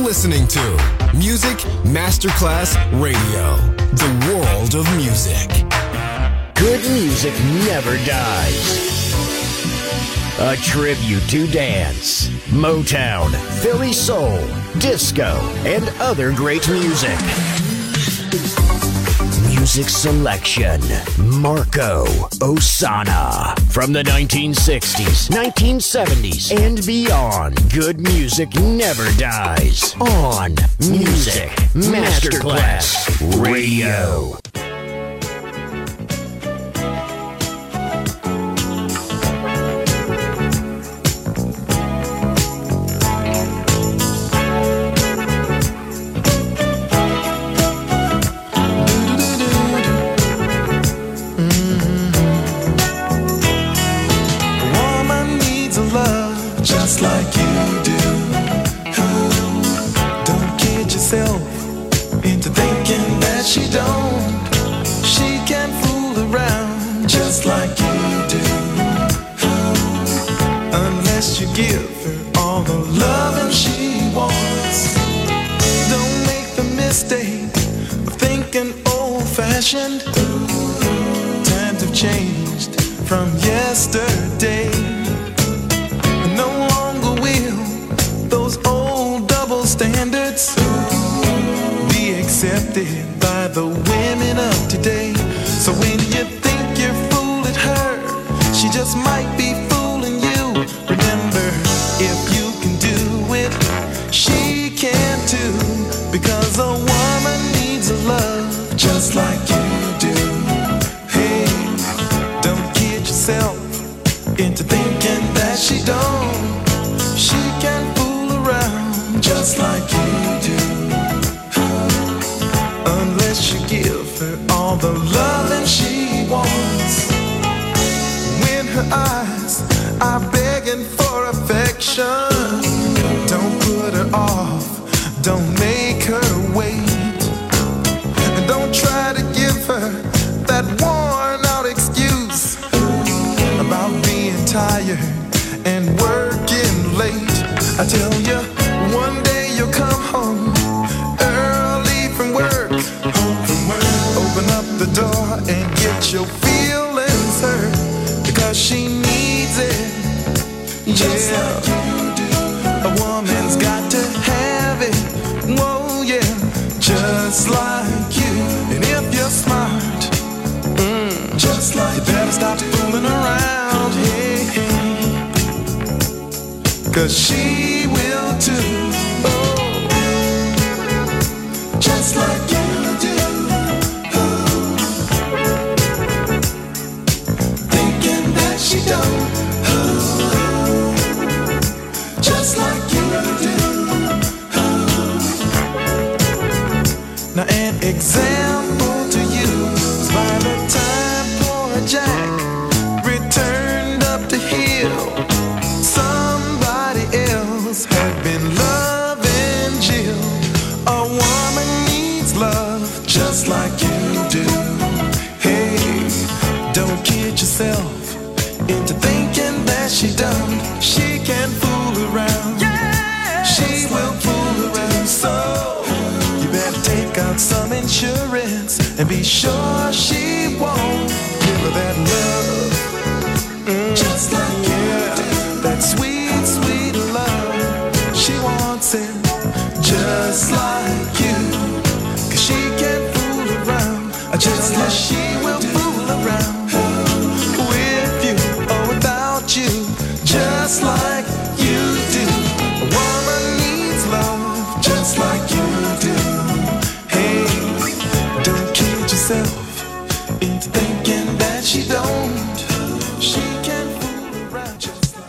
listening to Music Masterclass Radio, the world of music. Good music never dies. A tribute to dance, Motown, Philly soul, disco, and other great music. Music selection, Marco Ossanna. From the 1960s, 1970s, and beyond, good music never dies. On Music Masterclass Radio. Just like you do. Don't kid yourself into thinking that she don't. She can fool around just like you do. Unless you give her all the loving she wants. Don't make the mistake of thinking old-fashioned. Times have changed from yesterday. Standards be accepted by the women of today. So when you think you're fooling her, she just might be fooling you. Remember, if you can do it, she can too. Because a woman needs a love just like you do. Hey, don't kid yourself into thinking that she don't. She can fool around just like you do. Unless you give her all the loving she wants. When her eyes are begging for affection, don't put her off, don't make her wait. And don't try to give her that worn out excuse about being tired and working late. I tell you, one day you'll come home early from work. Open up the door and get your feelings hurt because she needs it. Just like you do. A woman's got to have it. Whoa, yeah, just like you. And if you're smart, just like you better stop fooling around. Hey, hey. 'Cause she will too. Oh, just like you do. Oh, thinking that she don't. Oh, just like you do. Oh. Now an example to you is by the time poor Jack returned up the hill, had been loving Jill. A woman needs love just like you do. Hey, don't kid yourself into thinking that she don't. She can fool around. Yeah, she will fool around. So you better take out some insurance and be sure she won't give her that love. Just like you do. That sweet, sweet love. She wants it just like you. 'Cause she can't fool around. Just like she will fool around with you or without you. Just like you do. A woman needs love just like you do. Hey, don't kid yourself into thinking that she don't. She can fool around just like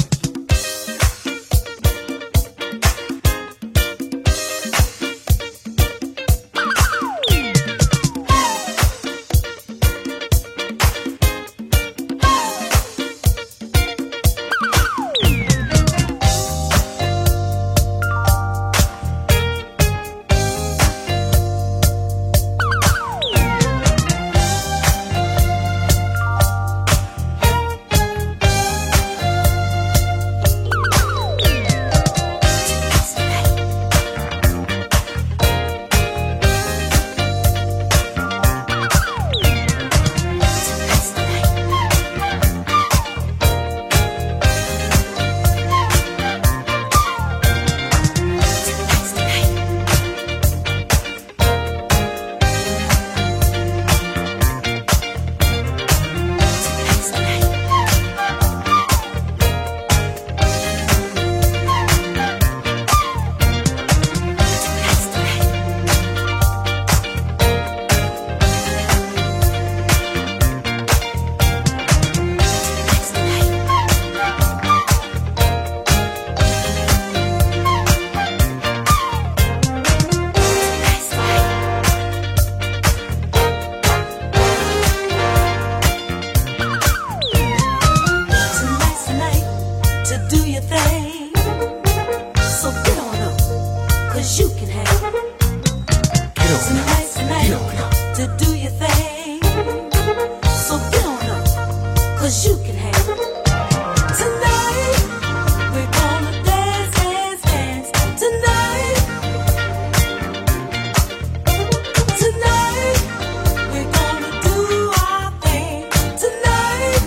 'cause you can have some nice night to do your thing. So get on up, 'cause you can have tonight. We're gonna dance, dance, dance tonight. Tonight we're gonna do our thing. Tonight,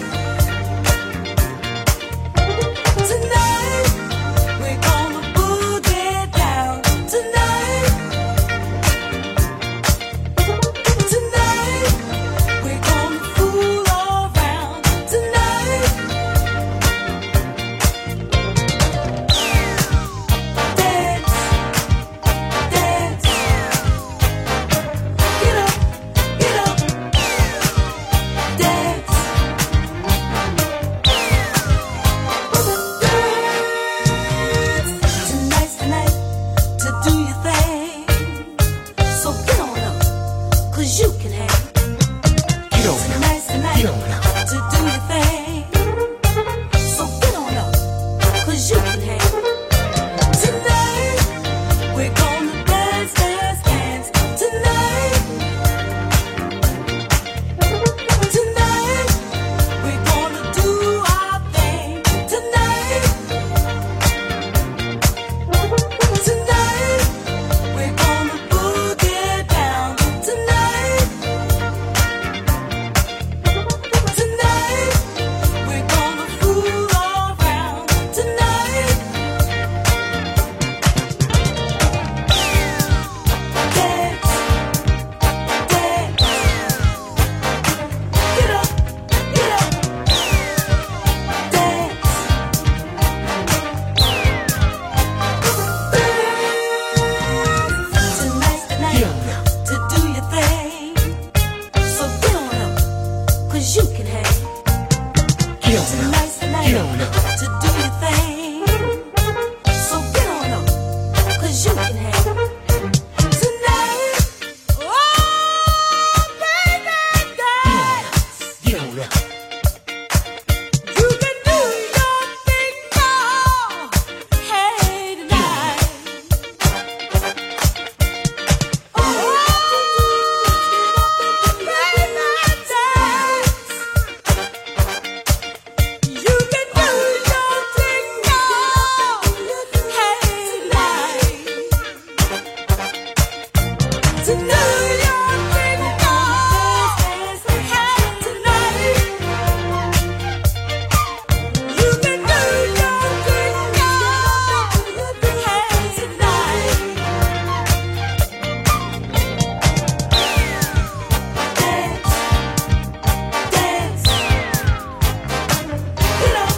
tonight we're gonna boogie down. Tonight, tonight we're gonna fool around. Tonight, dance, dance, get up, dance. Tonight's the night to do your thing. So get on up, 'cause you can have. Tonight's the night to do your thing. So get on up, 'cause you can have. Tonight we're gonna dance, dance, dance. Tonight, tonight we're gonna do our thing. Tonight, tonight we're gonna boogie down. Tonight, tonight we're gonna fool around. Tonight, dance, dance, get up, dance. Tonight's the night to do your thing. So get on up, 'cause you can have. Tonight's the night to do your thing. So get on up, 'cause you can have. Tonight, oh baby, dance. You can do your thing now. Hey tonight. Oh, baby, dance. You can do your thing now. Hey tonight. To do your thing now. Hey tonight. You can do your thing now. Hey tonight. Dance, dance. Get up,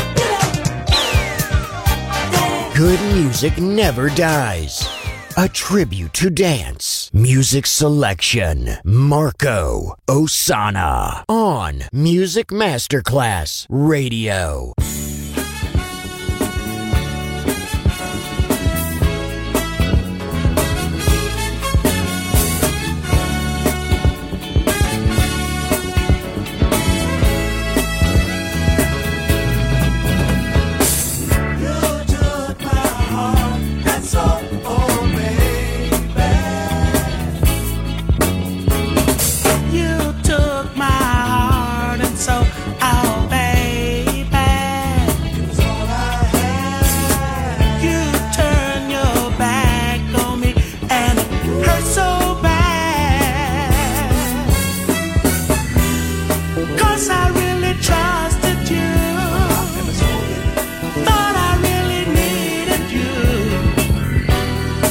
dance. Good music never dies. A tribute to dance. Music selection. Marco Ossanna. On Music Masterclass Radio. You took my heart and soul, oh baby. You turn your back on me and it hurts so bad. 'Cause I really trusted you. Thought I really needed you.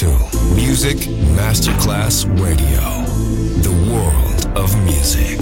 to Music Masterclass Radio, the world of music.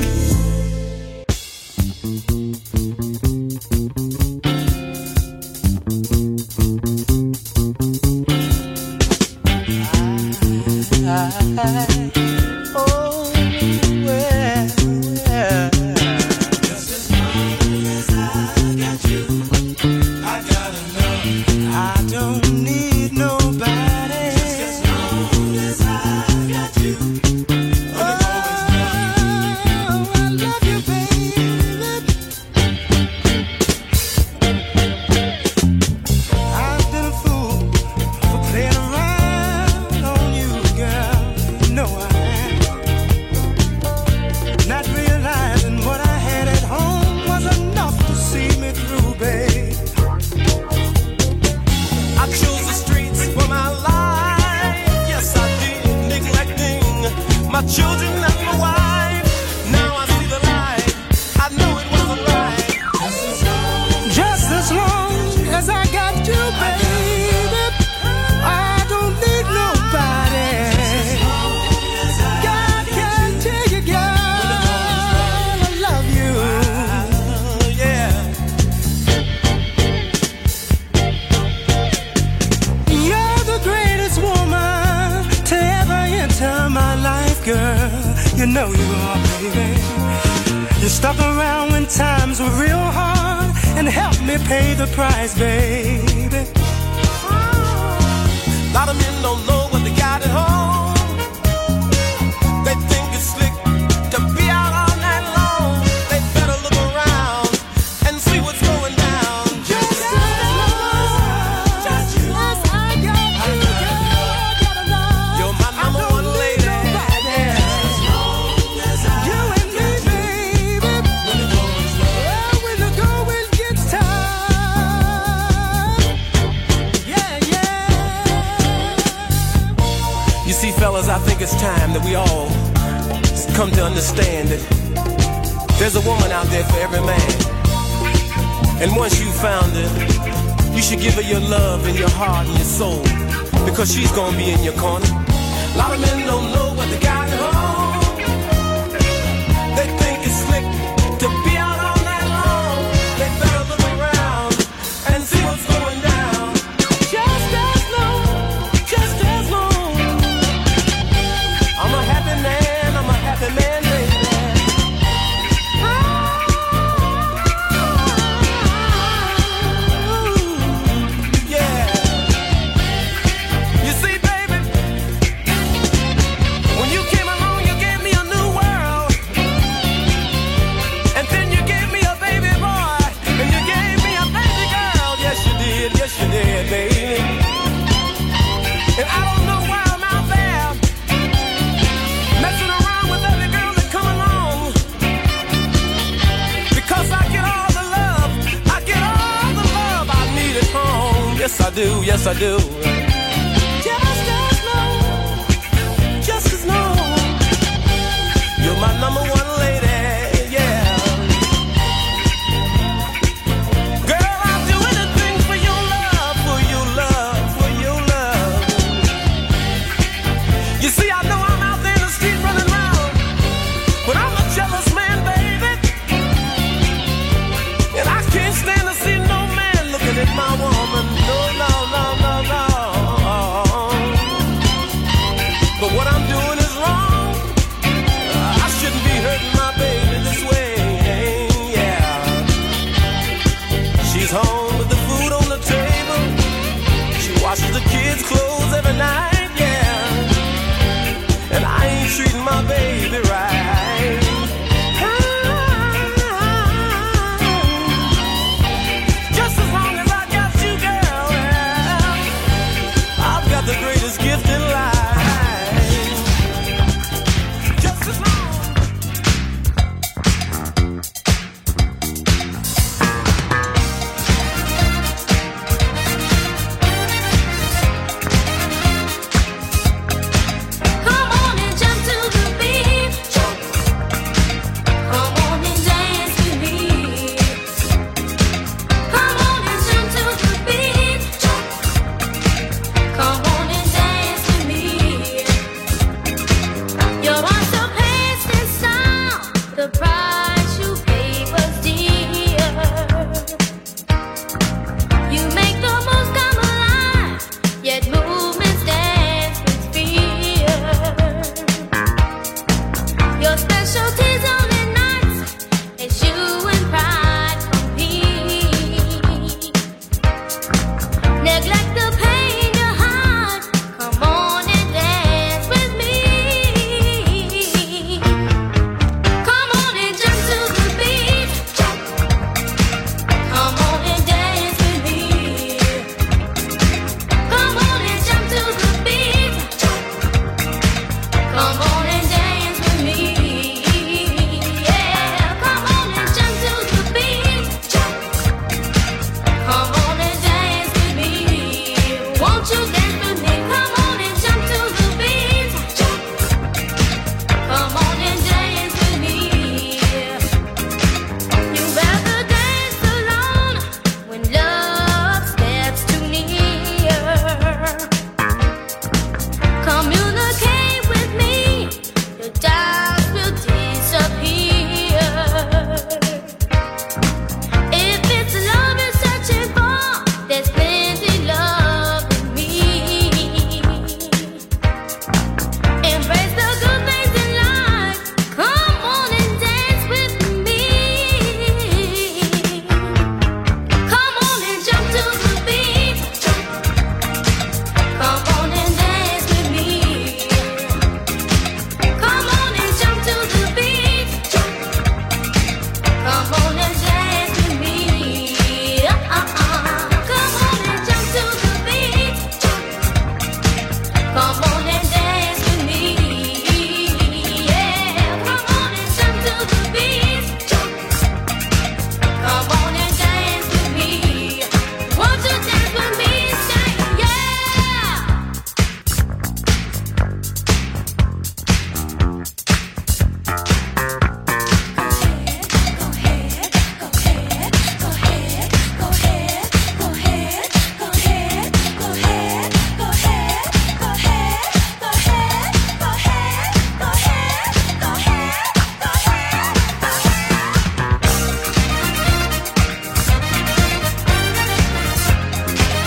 She's gonna be in your corner. A lot of men don't know what they got at home. They think it's slick to be out all night long. They better look around and see what's going down. Just as long, just as long. I'm a happy man, baby. Yes, I do. Just as long. You're my number one lady, yeah. Girl, I'll do anything for your love, for your love, for your love. You see, I know I'm out there in the street running around, but I'm a jealous man, baby. And I can't stand to see no man looking at my woman. No.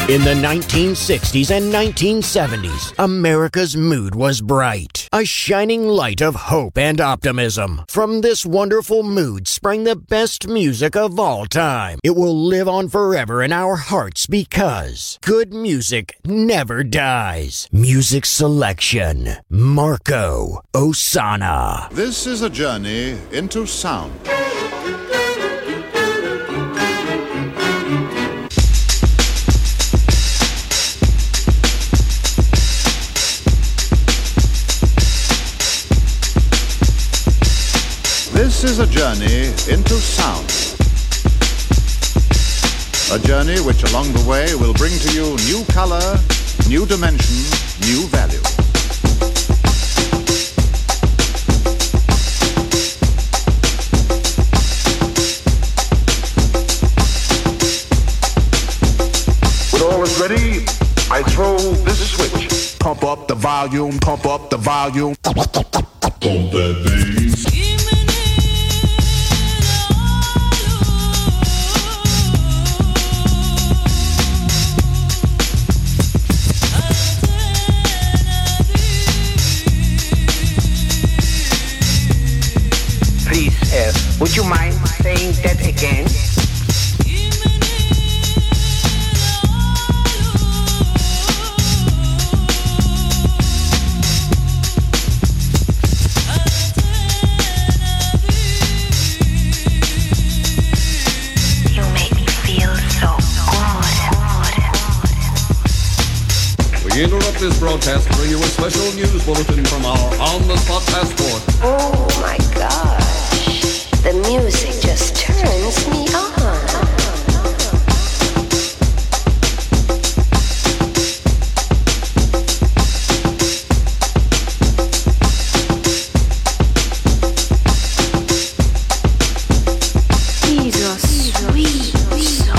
In the 1960s and 1970s, America's mood was bright, a shining light of hope and optimism. From this wonderful mood sprang the best music of all time. It will live on forever in our hearts because good music never dies. Music selection, Marco Ossanna. This is a journey into sound. This is a journey into sound. A journey which along the way will bring to you new color, new dimension, new value. When all is ready, I throw this switch. Pump up the volume, pump up the volume. Pump that bass. Please, would you mind saying that again? You make me feel so good. We interrupt this broadcast to bring you a special news bulletin from our on-the-spot passport. Oh my gosh. The music just turns me on. He's a sweet soul.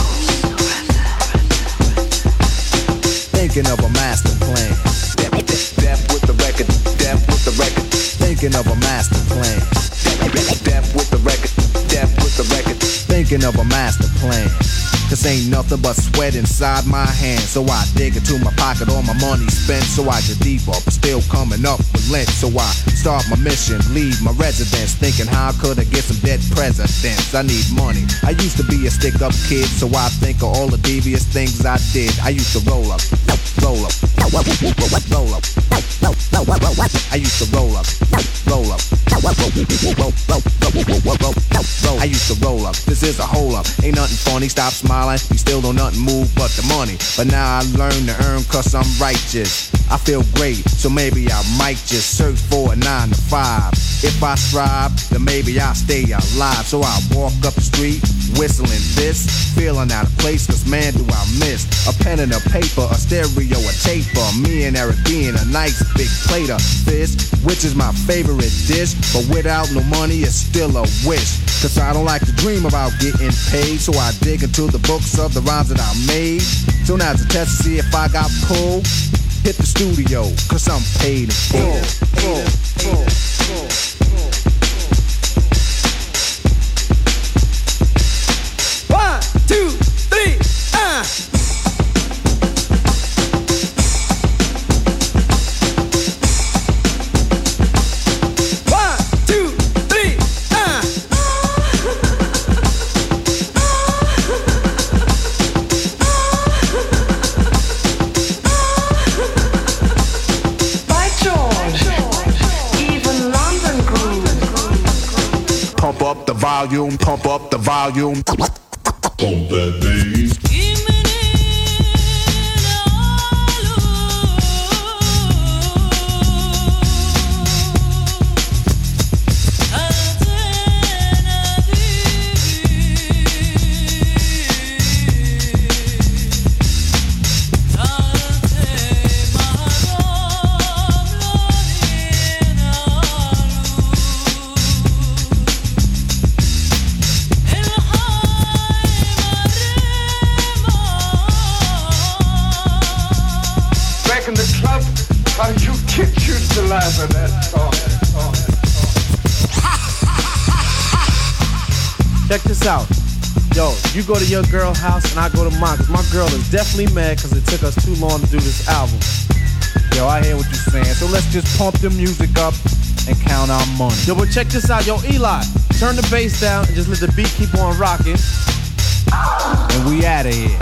Thinking of a master plan. Death with the record, death with the record. Thinking of a master plan. Death with the record, death with the record. Thinking of a master plan. Cause ain't nothing but sweat inside my hands. So I dig into my pocket, all my money spent. So I get deeper, but still coming up with lint. So I start my mission, leave my residence. Thinking how could I get some dead presidents? I need money. I used to be a stick-up kid, so I think of all the devious things I did. I used to roll up, roll up, roll up, roll up. I used to roll up, roll up, I used to roll up. This is a hole up. Ain't nothing funny. Stop smiling. You still don't nothing move but the money. But now I learn to earn cause I'm righteous. I feel great, so maybe I might just search for a 9 to 5. If I strive, then maybe I'll stay alive. So I walk up the street, whistling this, feeling out of place, cause man do I miss a pen and a paper, a stereo, a taper. Me and Eric being a nice big plate of fish, which is my favorite dish. But without no money, it's still a wish. Cause I don't like to dream about getting paid, so I dig into the books of the rhymes that I made. So now it's a test to see if I got pulled. Hit the studio, cause I'm paid in full. One, two, three, One, two, three, By George, even London groove. Pump up the volume, pump up the volume. Pump that bass. In the club, how you kids used to laugh at that song. Check this out. Yo, you go to your girl's house and I go to mine, cause my girl is definitely mad cause it took us too long to do this album. Yo, I hear what you're saying, so let's just pump the music up and count our money. Yo, but check this out. Yo, Eli, turn the bass down and just let the beat keep on rocking. And we outta here.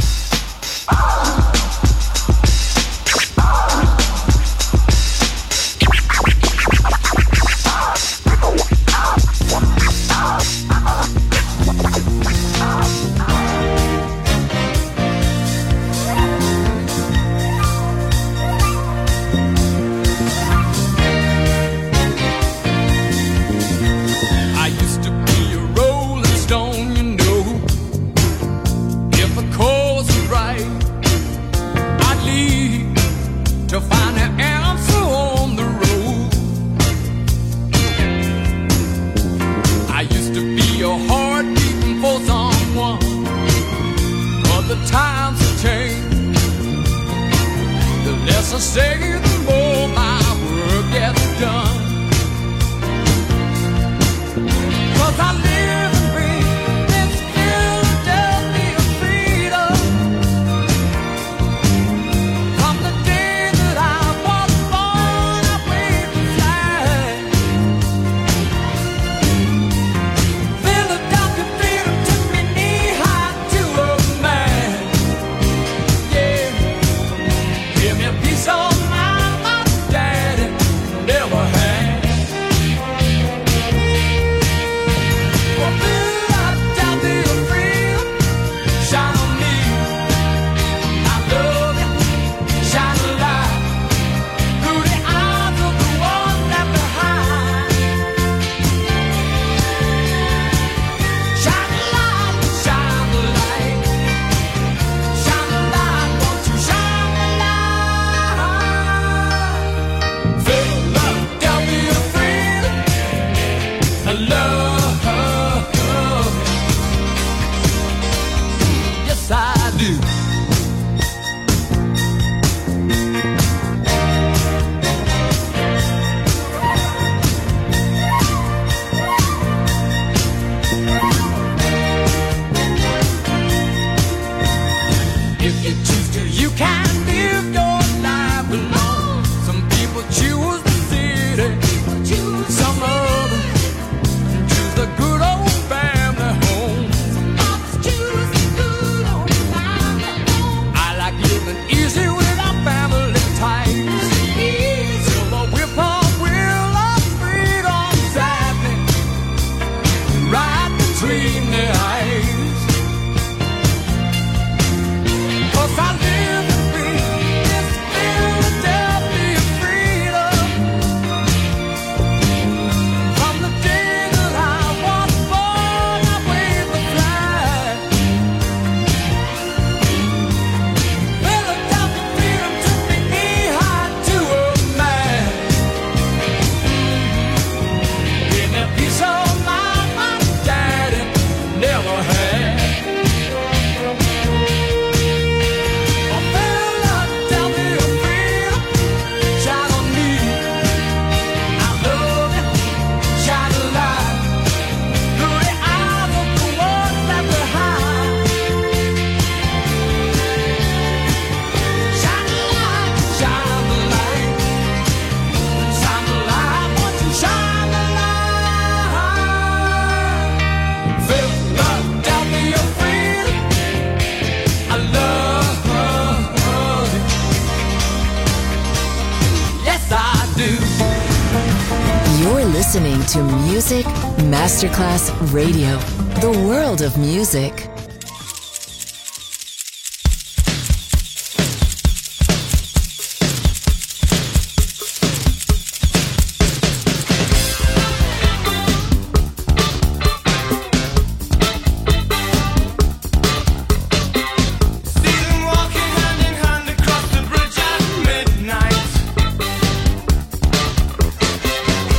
Listening to Music Masterclass Radio, the world of music.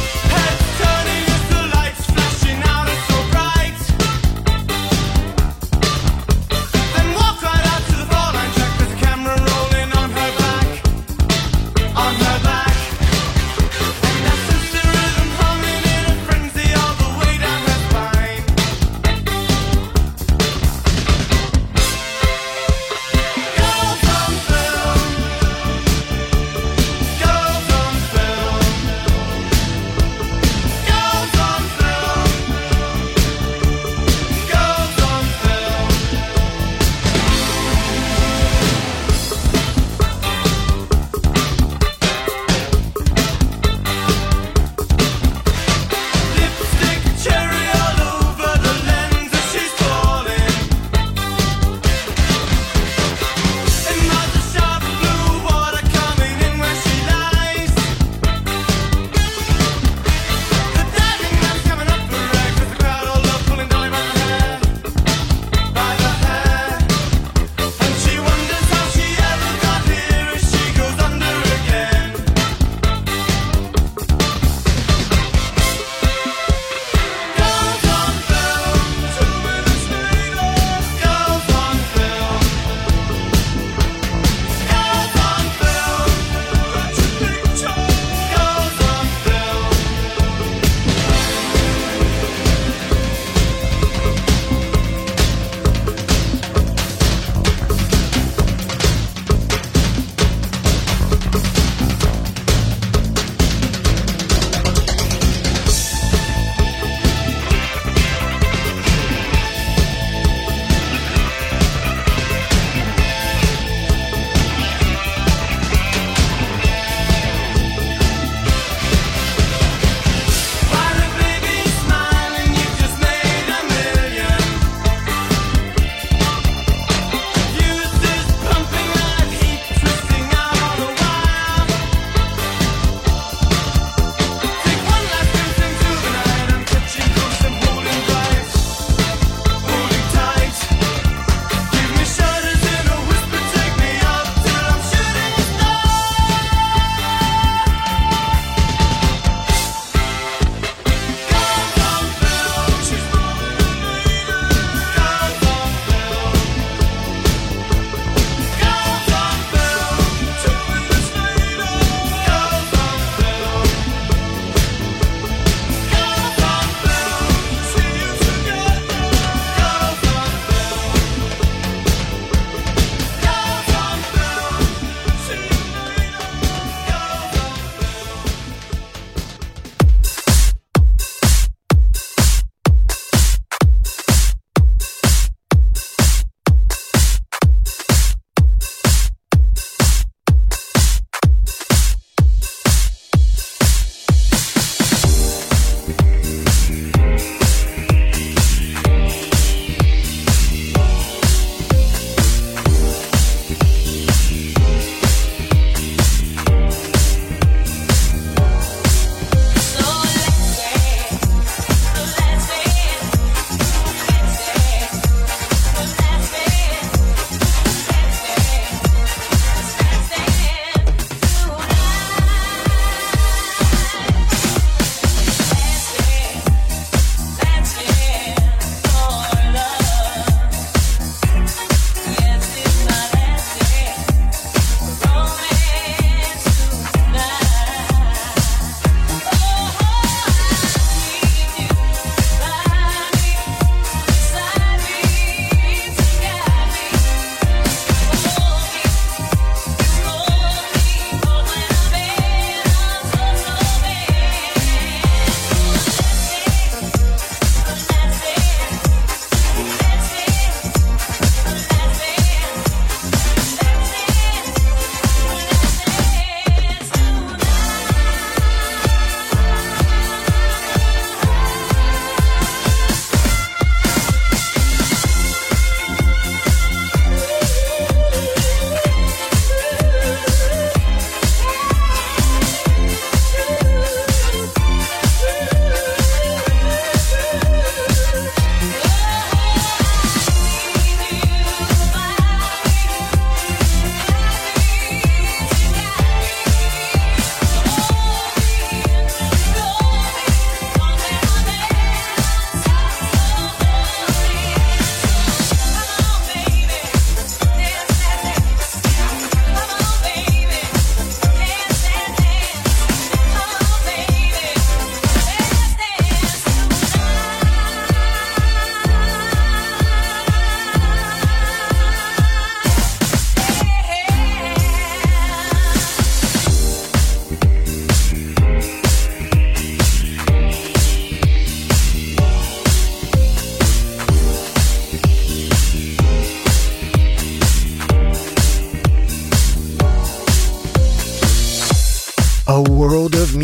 Turning as the lights flashing out so bright.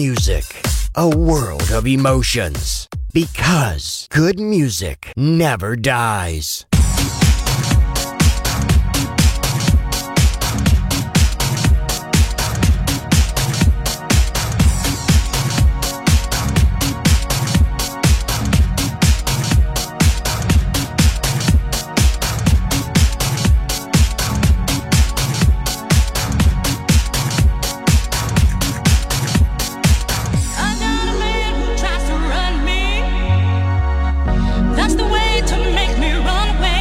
music, a world of emotions. Because good music never dies. That's the way to make me run away.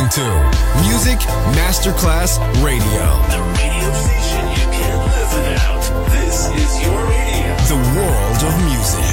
to Music Masterclass Radio. The radio station you can't live without. This is your radio. The world of music.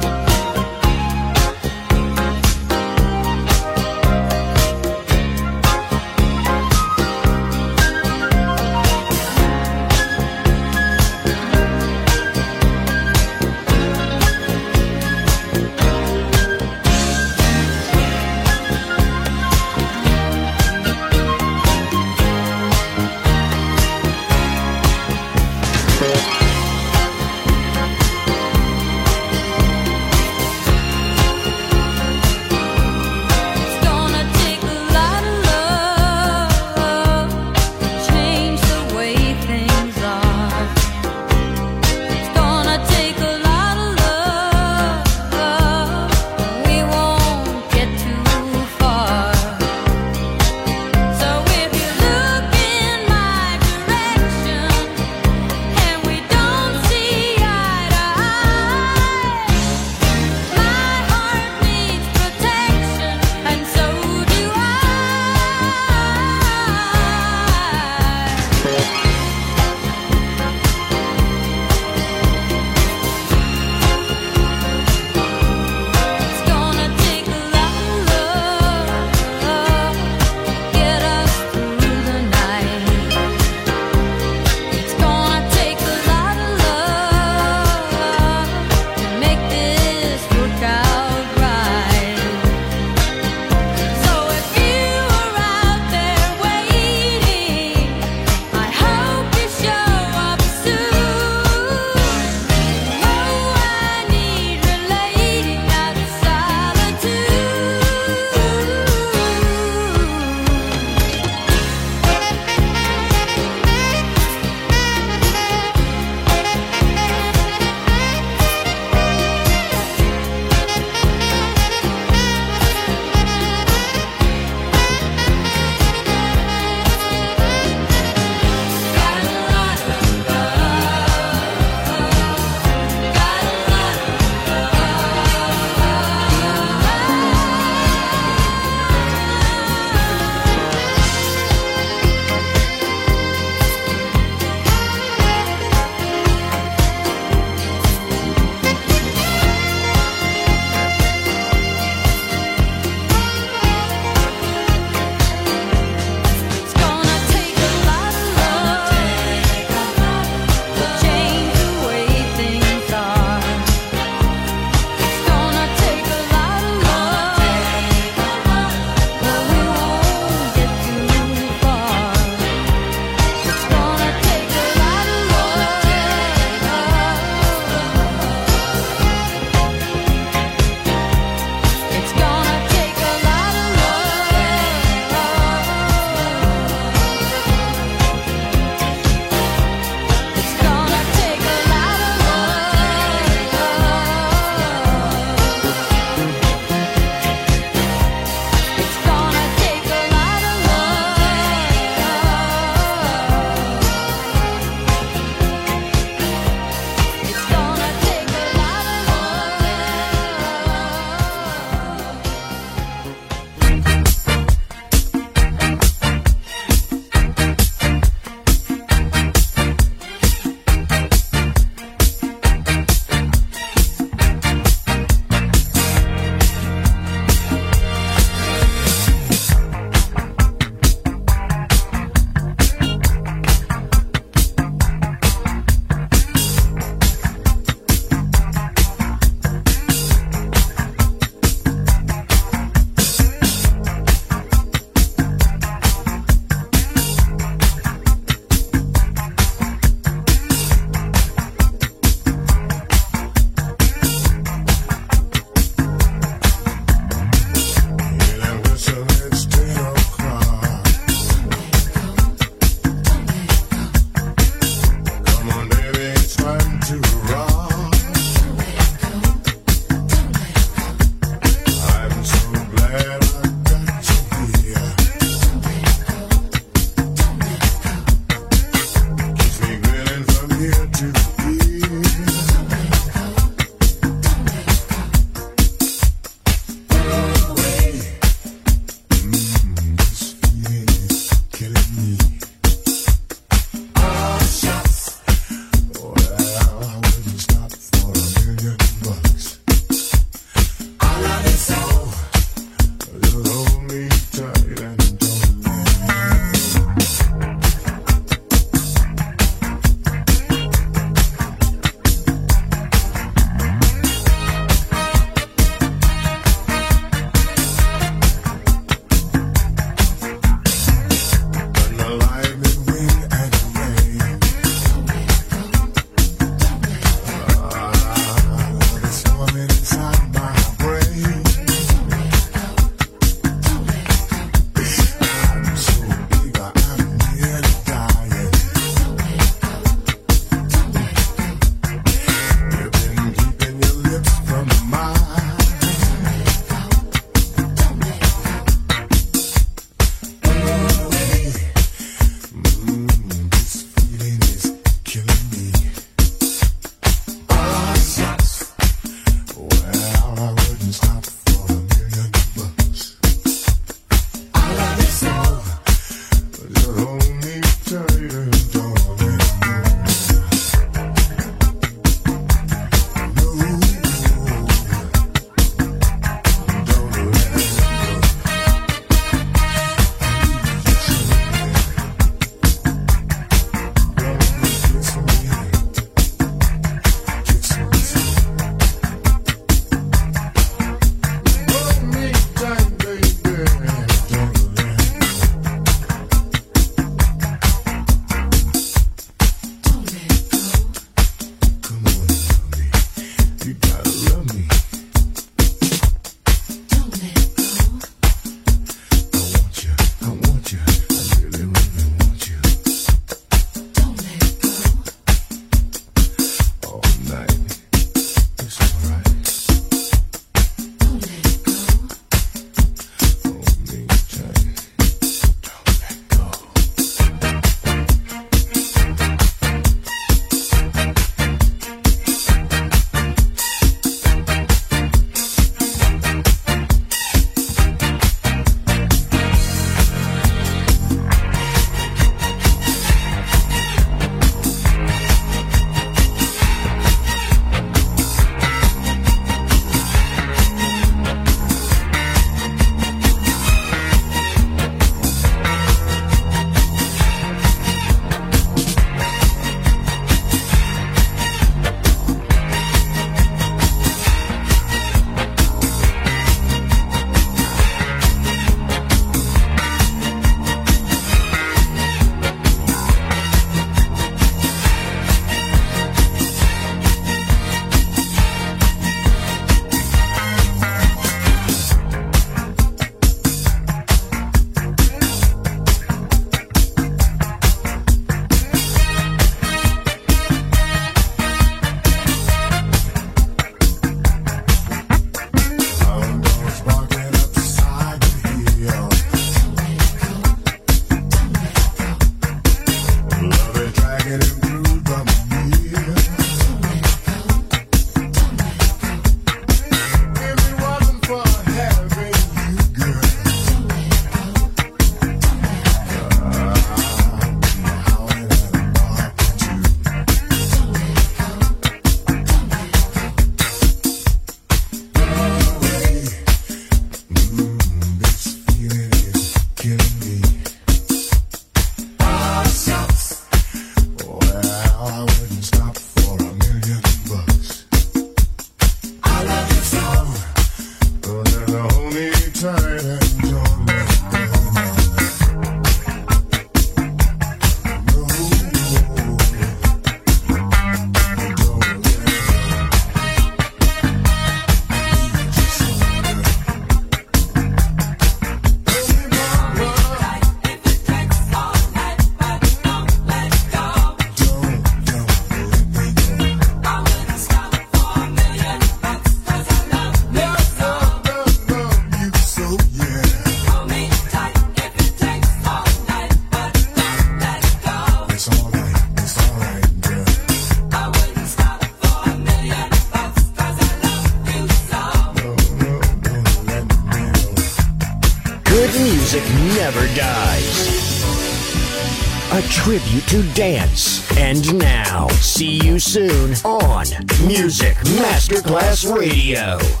music never dies. A tribute to dance. And now, see you soon on Music Masterclass Radio.